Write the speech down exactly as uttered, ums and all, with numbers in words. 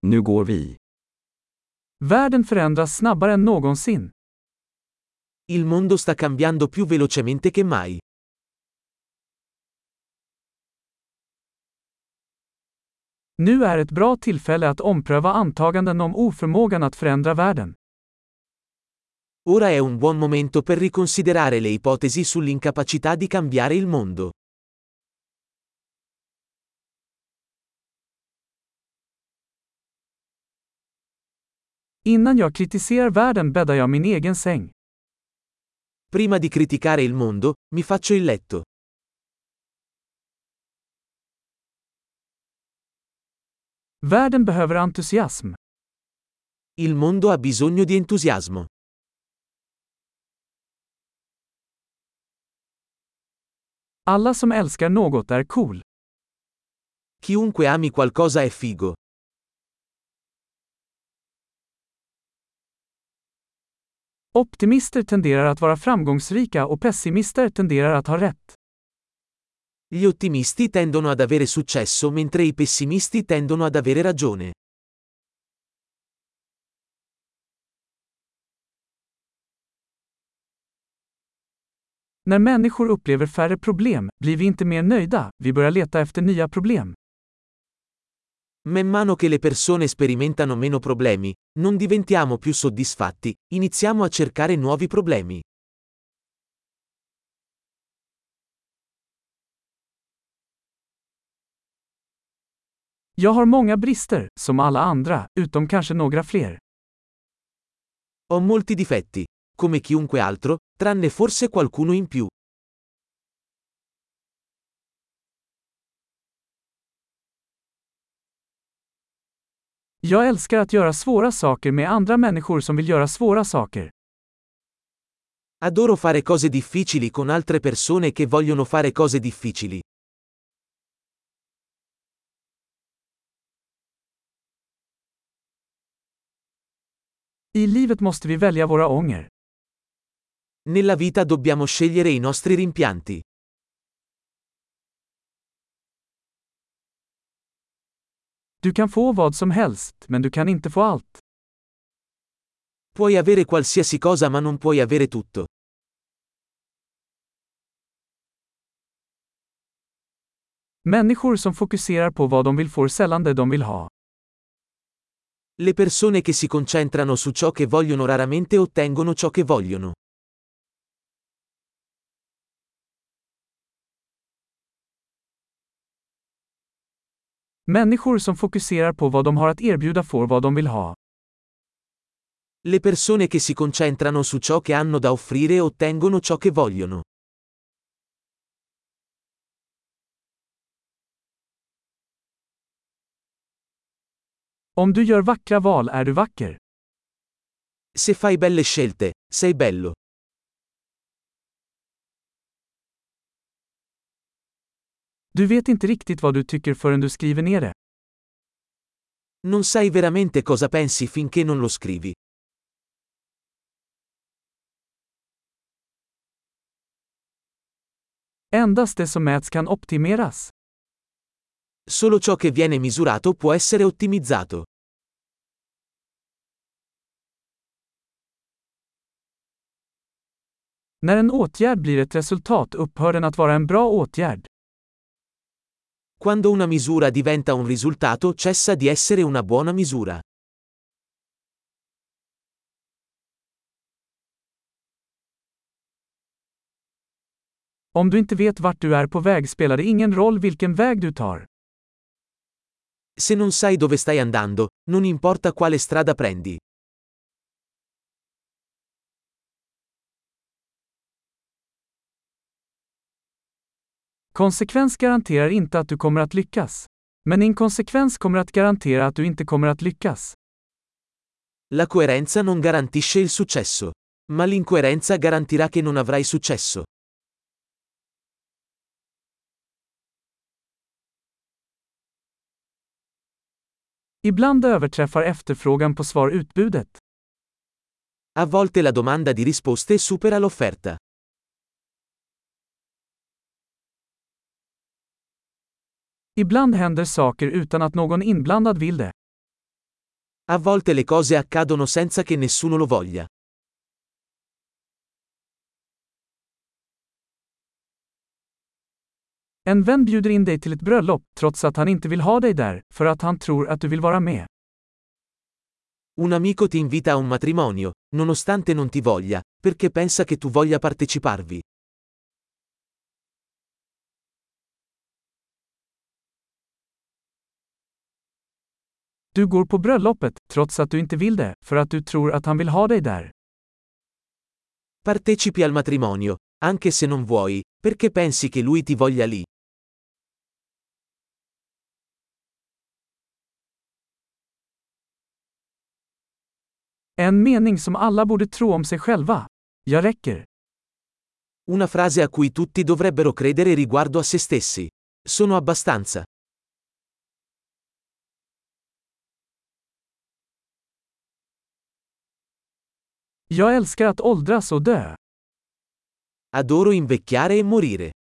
Nu går vi. Världen förändras snabbare än någonsin. Il mondo sta cambiando più velocemente che mai. Nu är ett bra tillfälle att ompröva antaganden om oförmågan att förändra världen. Ora è un buon momento per riconsiderare le ipotesi sull'incapacità di cambiare il mondo. Innan jag kritiserar världen bäddar jag min egen säng. Prima di criticare il mondo, mi faccio il letto. Världen behöver entusiasm. Il mondo ha bisogno di entusiasmo. Alla som älskar något är cool. Chiunque ami qualcosa è figo. Optimister tenderar att vara framgångsrika och pessimister tenderar att ha rätt. Gli ottimisti tendono ad avere successo mentre i pessimisti tendono ad avere ragione. När människor upplever färre problem, blir vi inte mer nöjda, vi börjar leta efter nya problem. Man mano che le persone sperimentano meno problemi, non diventiamo più soddisfatti, iniziamo a cercare nuovi problemi. Jag har många brister, som alla andra, utom kanske några fler. Ho molti difetti, come chiunque altro, tranne forse qualcuno in più. Jag älskar att göra svåra saker med andra människor som vill göra svåra saker. Adoro fare cose difficili con altre persone che vogliono fare cose difficili. I livet måste vi välja våra ånger. Nella vita dobbiamo scegliere i nostri rimpianti. Du kan få vad som helst, men du kan inte få allt. Puoi avere qualsiasi cosa ma non puoi avere tutto. Människor som fokuserar på vad de vill får sällan det de vill ha. Le persone che si concentrano su ciò che vogliono raramente ottengono ciò che vogliono. Människor som fokuserar på vad de har att erbjuda får vad de vill ha. Le persone che si concentrano su ciò che hanno da offrire ottengono ciò che vogliono. Om du gör vackra val är du vacker. Se fai belle scelte, sei bello. Du vet inte riktigt vad du tycker förrän du skriver ner det. Non sai veramente cosa pensi finché non lo scrivi. Endast det som mäts kan optimeras. Solo ciò che viene misurato può essere ottimizzato. När en åtgärd blir ett resultat upphör den att vara en bra åtgärd. Quando una misura diventa un risultato cessa di essere una buona misura. Om du inte vet vart du är på väg spelar det ingen roll vilken väg du tar. Se non sai dove stai andando, non importa quale strada prendi. Konsekvens garanterar inte att du kommer att lyckas. Men inkonsekvens kommer att garantera att du inte kommer att lyckas. La coerenza non garantisce il successo. Ma l'incoerenza garantirà che non avrai successo. Ibland överträffar efterfrågan på svar utbudet. A volte la domanda di risposte supera l'offerta. Ibland händer saker utan att någon inblandad vill det. A volte le cose accadono senza che nessuno lo voglia. En vän bjuder in dig till ett bröllop, trots att han inte vill ha dig där, för att han tror att du vill vara med. Un amico ti invita a un matrimonio, nonostante non ti voglia, perché pensa che tu voglia parteciparvi. Du går på bröllopet, trots att du inte vill det, för att du tror att han vill ha dig där. Partecipi al matrimonio, anche se non vuoi, perché pensi che lui ti voglia lì. En mening som alla borde tro om sig själva. Jag räcker. Una frase a cui tutti dovrebbero credere riguardo a se stessi. Sono abbastanza. Jag älskar att åldras och dö. Adoro invecchiare e morire.